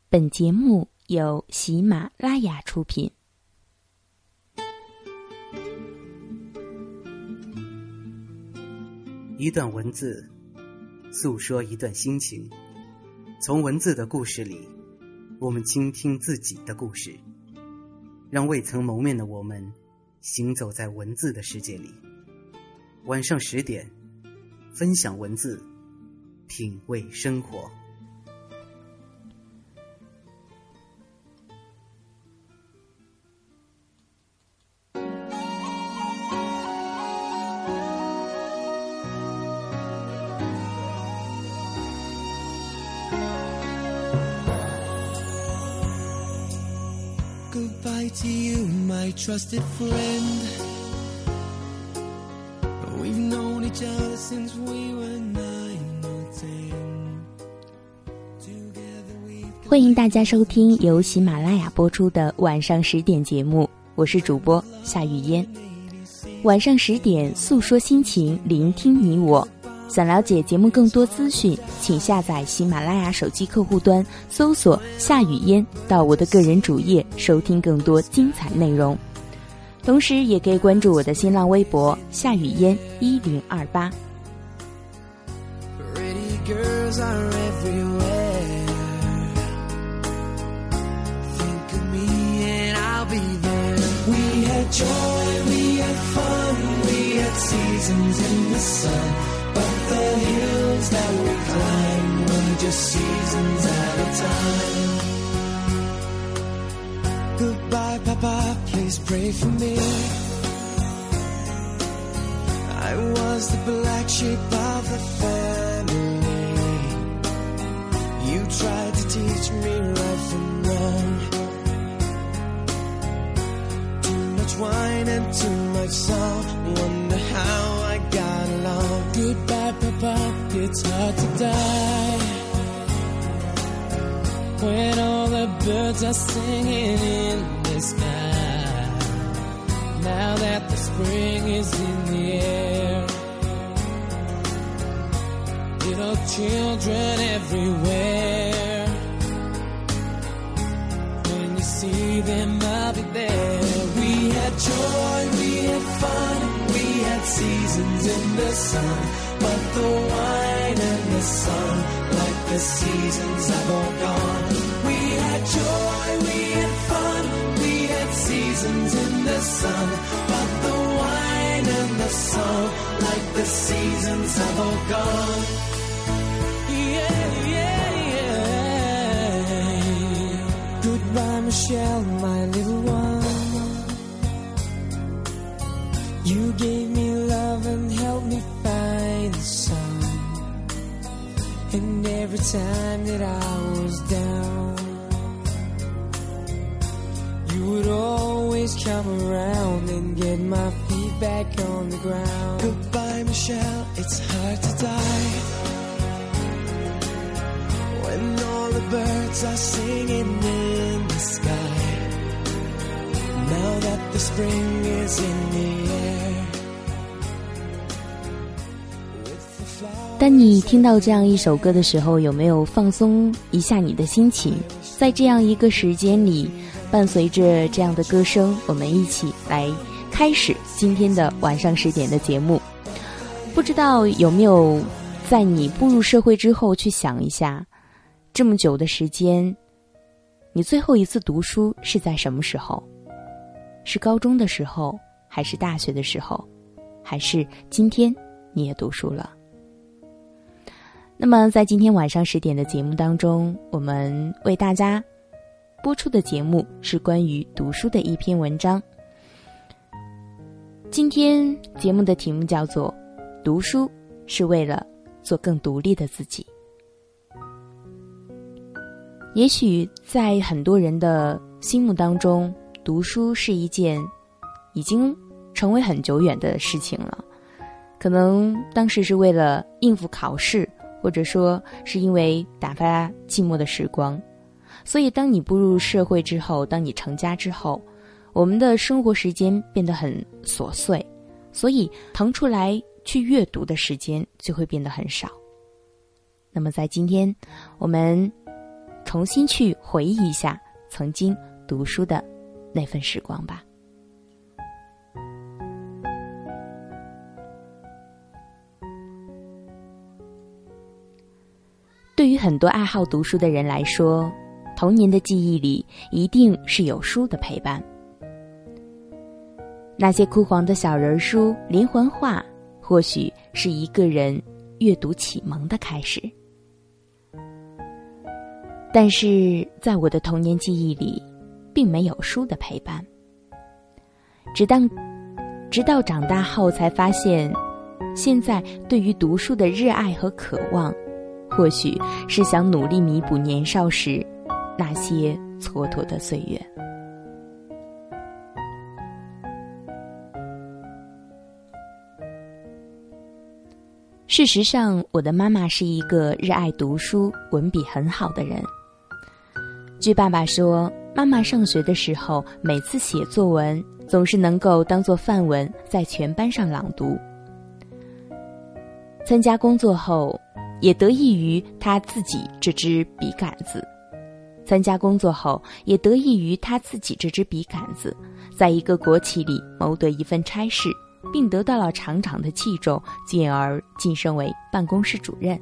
本节目由喜马拉雅出品。 一段文字，诉说一段心情。从文字的故事里，我们倾听自己的故事，让未曾谋面的我们行走在文字的世界里。晚上10点，分享文字，品味生活。 Goodbye to you, my trusted friend. We've known each other since we were 9 or 10. 欢迎大家收听由喜马拉雅播出的晚上10点节目，我是主播夏雨嫣。晚上10点，诉说心情，聆听你我。想了解节目更多资讯，请下载喜马拉雅手机客户端，搜索夏雨嫣，到我的个人主页收听更多精彩内容。同时也可以关注我的新浪微博夏雨嫣1028。 But the hills that we climb were just seasons at a time. Goodbye, Papa, please pray for me. I was the black sheep of the family. You tried to teach me right from wrong. Too much wine and too much salt. Wonder how I got along. Goodbye, Papa, it's hard to die when all the birds are singing in the sky. Now that the spring is in the air, little children everywhere. When you see them, I'll be there. We had joy, we had fun, we had seasons in the sun. But the wine and the sun, like the seasons have all gone. We had joy, we had fun, we had seasons in the sun. But the wine and the sun, like the seasons have all gone. Yeah, yeah, yeah. Goodbye, Michelle, my little one. You gave me love and helped me find the sun. And every time that I was down, you would always come around and get my feet back on the ground. Goodbye, Michelle, it's hard to die when all the birds are singing in the sky. Now that the spring is in the air. 当你听到这样一首歌的时候，有没有放松一下你的心情？在这样一个时间里，伴随着这样的歌声，我们一起来开始今天的晚上10点的节目。不知道有没有在你步入社会之后去想一下，这么久的时间，你最后一次读书是在什么时候？是高中的时候，还是大学的时候，还是今天你也读书了？那么在今天晚上10点的节目当中，我们为大家播出的节目是关于读书的一篇文章。今天节目的题目叫做读书是为了做更独立的自己。也许在很多人的心目当中，读书是一件已经成为很久远的事情了，可能当时是为了应付考试，或者说是因为打发寂寞的时光。所以当你步入社会之后，当你成家之后，我们的生活时间变得很琐碎，所以腾出来去阅读的时间就会变得很少。那么在今天我们重新去回忆一下曾经读书的那份时光吧。对于很多爱好读书的人来说，童年的记忆里一定是有书的陪伴。那些枯黄的小人书、连环画，或许是一个人阅读启蒙的开始。但是在我的童年记忆里，并没有书的陪伴。直到长大后才发现，现在对于读书的热爱和渴望，或许是想努力弥补年少时那些蹉跎的岁月。事实上，我的妈妈是一个热爱读书、文笔很好的人。据爸爸说，妈妈上学的时候，每次写作文总是能够当作范文在全班上朗读。参加工作后，也得益于他自己这支笔杆子。在一个国企里谋得一份差事，并得到了厂长的器重，进而晋升为办公室主任。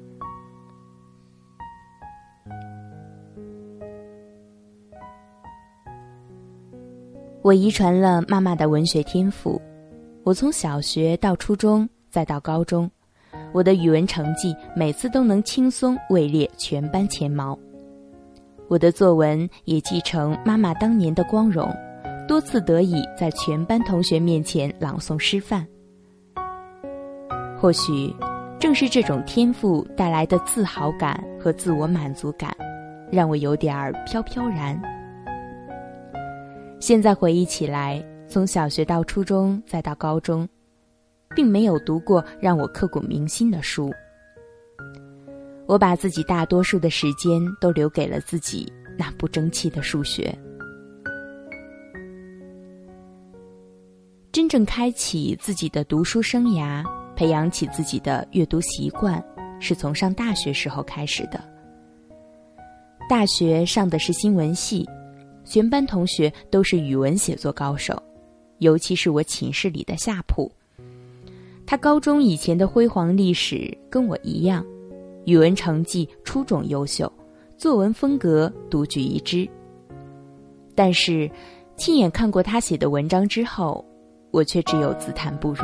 我遗传了妈妈的文学天赋，我从小学到初中再到高中，我的语文成绩每次都能轻松位列全班前茅。我的作文也继承妈妈当年的光荣，多次得以在全班同学面前朗诵示范。或许正是这种天赋带来的自豪感和自我满足感，让我有点飘飘然。现在回忆起来，从小学到初中再到高中，并没有读过让我刻骨铭心的书。我把自己大多数的时间都留给了自己那不争气的数学。真正开启自己的读书生涯，培养起自己的阅读习惯，是从上大学时候开始的。大学上的是新闻系，全班同学都是语文写作高手，尤其是我寝室里的夏普。他高中以前的辉煌历史跟我一样，语文成绩出众优秀，作文风格独具一帜。但是亲眼看过他写的文章之后，我却只有自叹不如。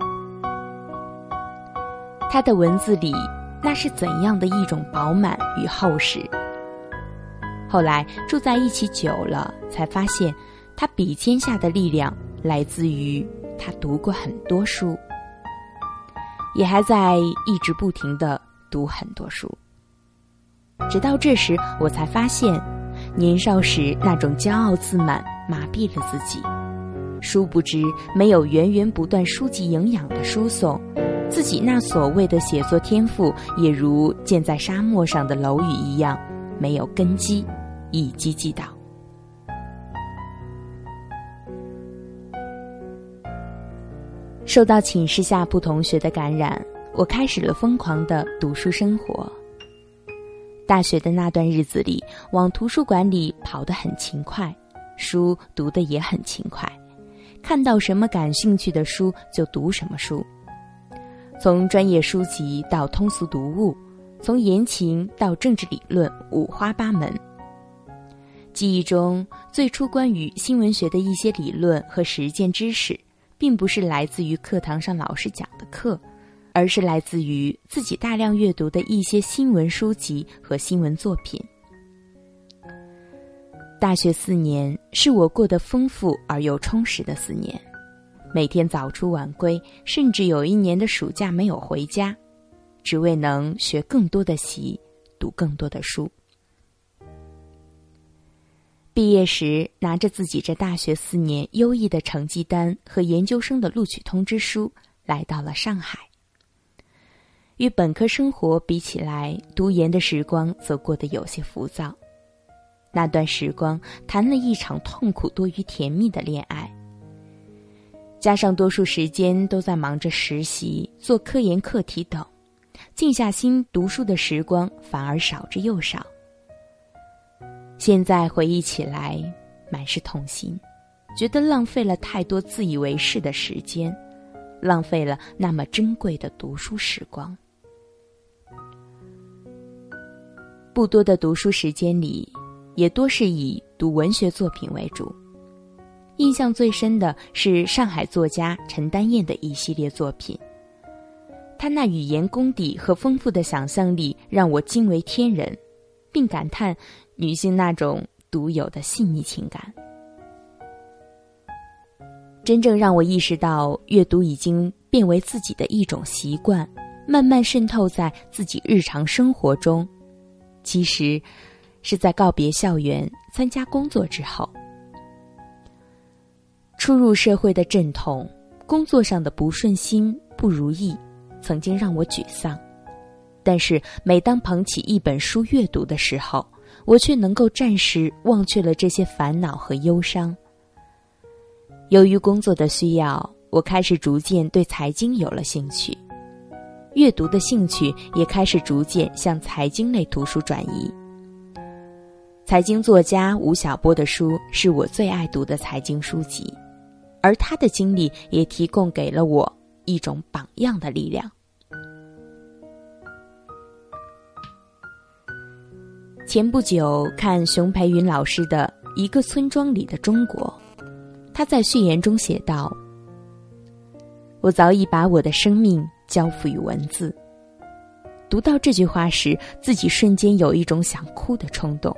他的文字里那是怎样的一种饱满与厚实。后来住在一起久了，才发现他笔尖下的力量来自于他读过很多书，也还在一直不停地读很多书。直到这时，我才发现年少时那种骄傲自满麻痹了自己，殊不知没有源源不断书籍营养的输送，自己那所谓的写作天赋也如建在沙漠上的楼宇一样，没有根基，一击即倒。受到寝室下铺同学的感染，我开始了疯狂的读书生活。大学的那段日子里，往图书馆里跑得很勤快，书读得也很勤快，看到什么感兴趣的书就读什么书，从专业书籍到通俗读物，从言情到政治理论，五花八门。记忆中最初关于新闻学的一些理论和实践知识，并不是来自于课堂上老师讲的课，而是来自于自己大量阅读的一些新闻书籍和新闻作品。大学4年是我过得丰富而又充实的4年，每天早出晚归，甚至有1年的暑假没有回家，只为能学更多的习，读更多的书。毕业时，拿着自己这大学4年优异的成绩单和研究生的录取通知书，来到了上海。与本科生活比起来，读研的时光则过得有些浮躁。那段时光谈了一场痛苦多于甜蜜的恋爱，加上多数时间都在忙着实习、做科研课题等，静下心读书的时光反而少之又少。 现在回忆起来，满是痛心，觉得浪费了太多自以为是的时间，浪费了那么珍贵的读书时光。不多的读书时间里，也多是以读文学作品为主。印象最深的是上海作家陈丹燕的一系列作品，他那语言功底和丰富的想象力让我惊为天人，并感叹女性那种独有的细腻情感。真正让我意识到阅读已经变为自己的一种习惯，慢慢渗透在自己日常生活中，其实是在告别校园参加工作之后。初入社会的阵痛，工作上的不顺心不如意，曾经让我沮丧，但是每当捧起一本书阅读的时候，我却能够暂时忘却了这些烦恼和忧伤。由于工作的需要，我开始逐渐对财经有了兴趣，阅读的兴趣也开始逐渐向财经类图书转移。财经作家吴晓波的书是我最爱读的财经书籍，而他的经历也提供给了我一种榜样的力量。前不久看熊培云老师的《一个村庄里的中国》，他在序言中写道：我早已把我的生命交付于文字。读到这句话时，自己瞬间有一种想哭的冲动。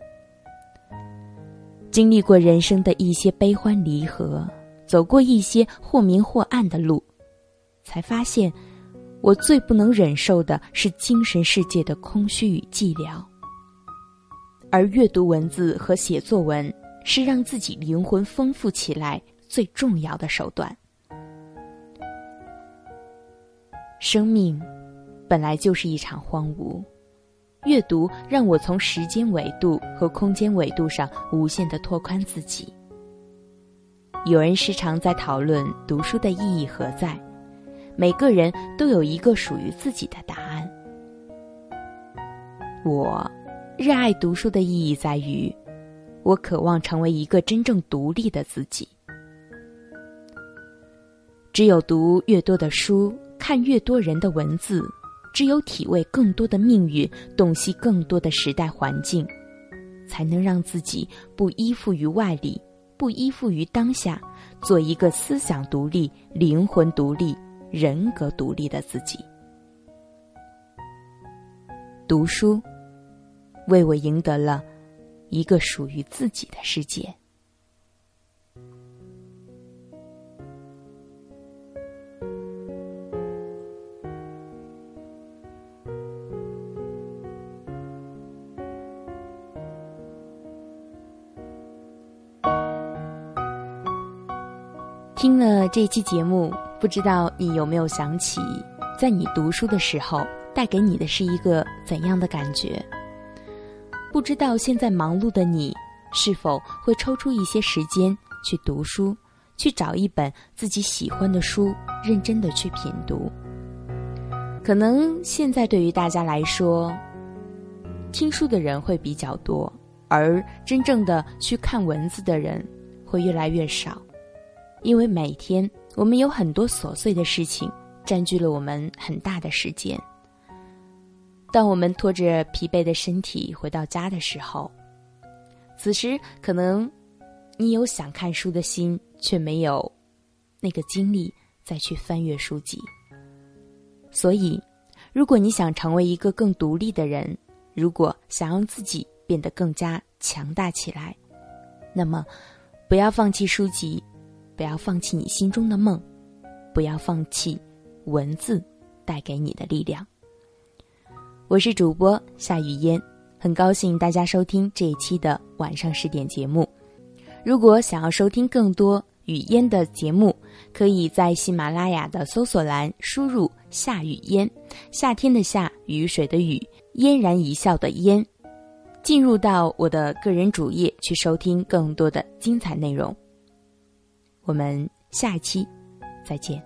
经历过人生的一些悲欢离合，走过一些或明或暗的路，才发现我最不能忍受的是精神世界的空虚与寂寥。而阅读文字和写作文是让自己灵魂丰富起来最重要的手段。生命本来就是一场荒芜，阅读让我从时间维度和空间维度上无限地拓宽自己。有人时常在讨论读书的意义何在，每个人都有一个属于自己的答案。我热爱读书的意义在于，我渴望成为一个真正独立的自己。只有读越多的书，看越多人的文字，只有体味更多的命运，洞悉更多的时代环境，才能让自己不依附于外力，不依附于当下，做一个思想独立、灵魂独立、人格独立的自己。读书为我赢得了一个属于自己的世界。听了这期节目，不知道你有没有想起，在你读书的时候带给你的是一个怎样的感觉？不知道现在忙碌的你，是否会抽出一些时间去读书，去找一本自己喜欢的书，认真的去品读。可能现在对于大家来说，听书的人会比较多，而真正的去看文字的人会越来越少。因为每天我们有很多琐碎的事情占据了我们很大的时间。当我们拖着疲惫的身体回到家的时候，此时可能你有想看书的心，却没有那个精力再去翻阅书籍。所以如果你想成为一个更独立的人，如果想让自己变得更加强大起来，那么不要放弃书籍，不要放弃你心中的梦，不要放弃文字带给你的力量。我是主播夏雨嫣，很高兴大家收听这一期的晚上10点节目。如果想要收听更多雨嫣的节目，可以在喜马拉雅的搜索栏输入夏雨嫣，夏天的夏，雨水的雨，嫣然一笑的嫣，进入到我的个人主页去收听更多的精彩内容。我们下一期再见。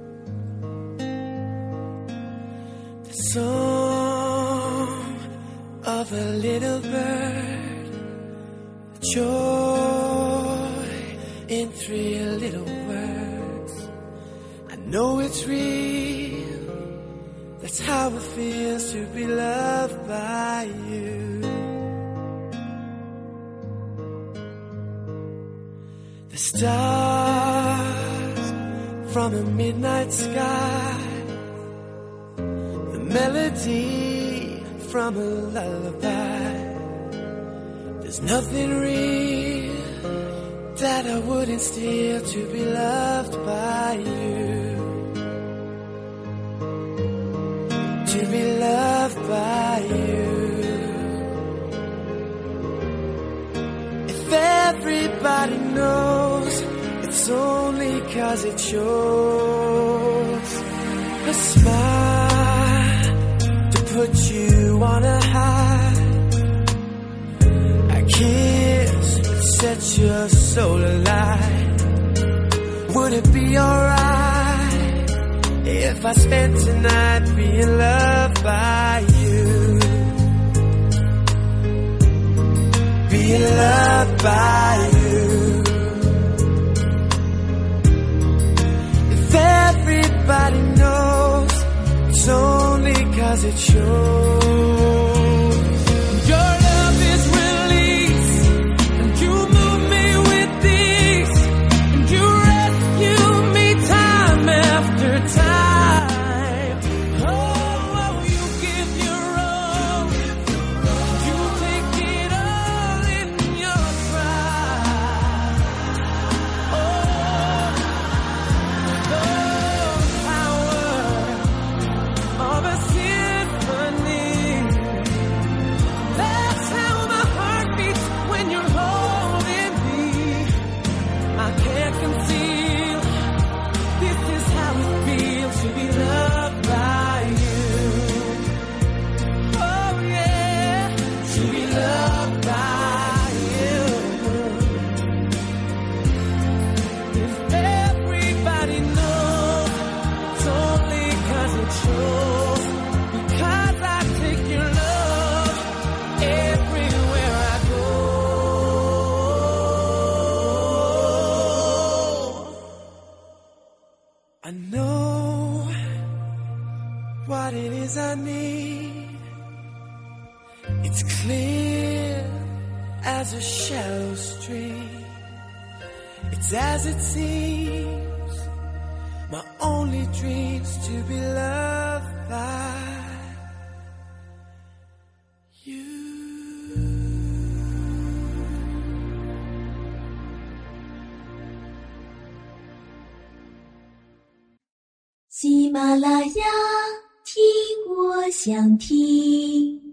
The song of a little bird, joy in 3 little words. I know it's real, that's how it feels to be loved by you. The stars from a midnight sky, the melody from a lullaby. There's nothing real that I wouldn't steal to be loved by you. To be loved by you. If everybody knows, it's only 'cause it shows. A smile to put you on a high, a kiss that sets your soul alight. Would it be alright if I spent tonight being loved by you? Being loved by you. If everybody knows, it's only 'cause it shows. Your love is release, and you move me with ease, and you rescue me time after time. Oh, you give your all, you take it all in your stride. Oh, the power of a symphony. That's how my heart beats when you're holding me. I can't conceal, this is how it feels to be loved by you. Oh yeah, to be loved by you. If everybody knows, it's only 'cause it shows. Because I take your love everywhere I go. I know what it is I need. It's clear as a shallow stream. It's as it seems, my only dream's to be loved by you. 喜马拉雅，听我想听。